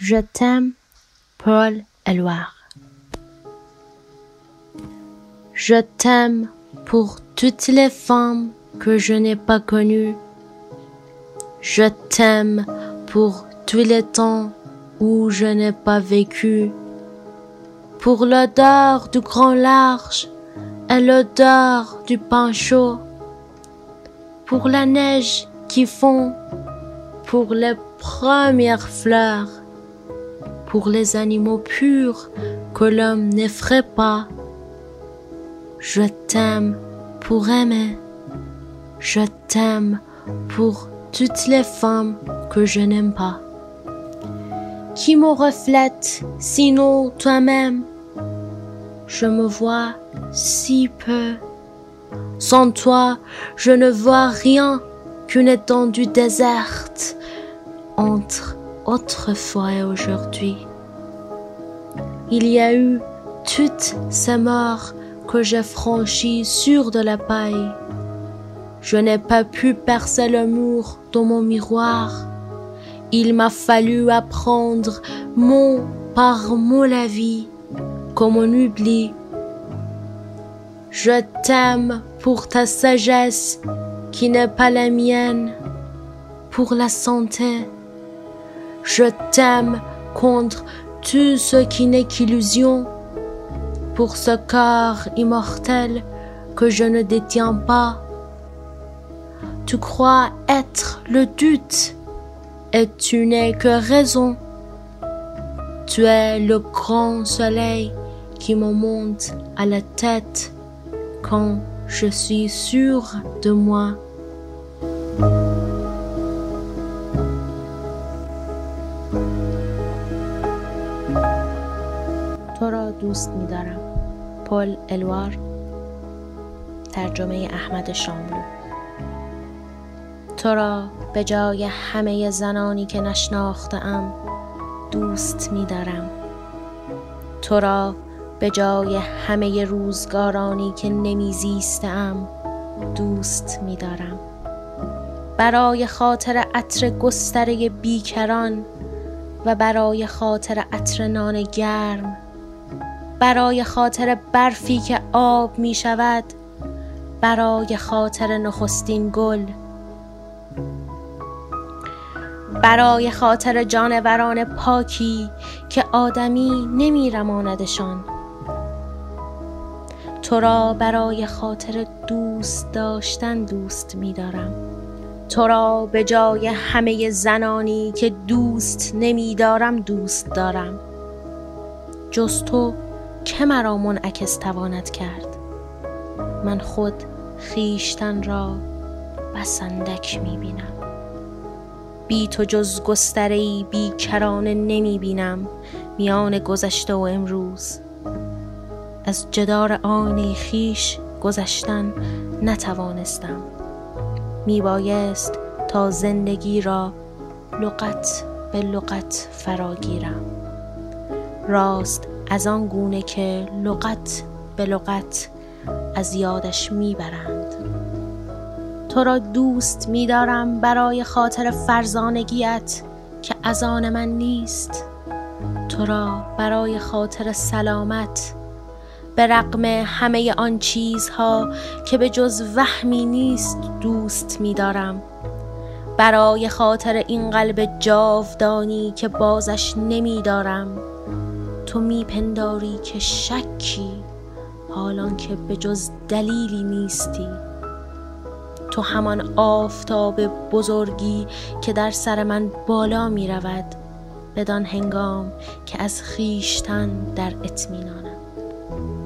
Je t'aime, Paul Éluard. Je t'aime pour toutes les femmes que je n'ai pas connues. Je t'aime pour tous les temps où je n'ai pas vécu. Pour l'odeur du grand large et l'odeur du pain chaud. Pour la neige qui fond, pour les premières fleurs, pour les animaux purs que l'homme n'effraie pas. Je t'aime pour aimer, je t'aime pour toutes les femmes que je n'aime pas. Qui me reflète, sinon toi-même? Je me vois si peu. Sans toi, je ne vois rien qu'une étendue déserte entre autrefois et aujourd'hui. Il y a eu toutes ces morts que j'ai franchies sur de la paille. Je n'ai pas pu percer le mur de mon miroir. Il m'a fallu apprendre mot par mot la vie, comme on oublie. Je t'aime pour ta sagesse qui n'est pas la mienne, pour la santé. Je t'aime contre tout ce qui n'est qu'illusion, pour ce corps immortel que je ne détiens pas. Tu crois être le doute, et tu n'es que raison. Tu es le grand soleil qui me monte à la tête quand je suis sûre de moi. تو را دوست می‌دارم. پل الوار. ترجمه احمد شاملو. تو را به جای همه زنانی که نشناختم دوست می‌دارم. تو را به جای همه روزگارانی که نمی‌زیستم دوست می‌دارم. برای خاطر عطر گستره بیکران و برای خاطر عطر نان گرم، برای خاطر برفی که آب می شود، برای خاطر نخستین گل، برای خاطر جانوران پاکی که آدمی نمی رماندشان. تو را برای خاطر دوست داشتن دوست می دارم. تو را به جای همه زنانی که دوست نمی دارم دوست دارم. جز تو که مرا منعکس تواند کرد؟ من خود خویشتن را بس اندک می بینم. بی تو جز گستره‌ای بیکرانه نمی بینم میان گذشته و امروز. از جدار آینه خویش گذشتن نتوانستم. می بایست تا زندگی را لغت به لغت فراگیرم. راست از آن گونه که لغت به لغت از یادش میبرند. تو را دوست می‌دارم برای خاطر فرزانگیت که از آن من نیست. تو را برای خاطر سلامت، به رغم همه آن چیزها که به جز وهمی نیست دوست می‌دارم. برای خاطر این قلب جاودانی که بازش نمی‌دارم. تو میپنداری که شکی حالان که به جز دلیلی نیستی. تو همان آفتاب بزرگی که در سر من بالا می رود بدان هنگام که از خویشتن در اطمینانم.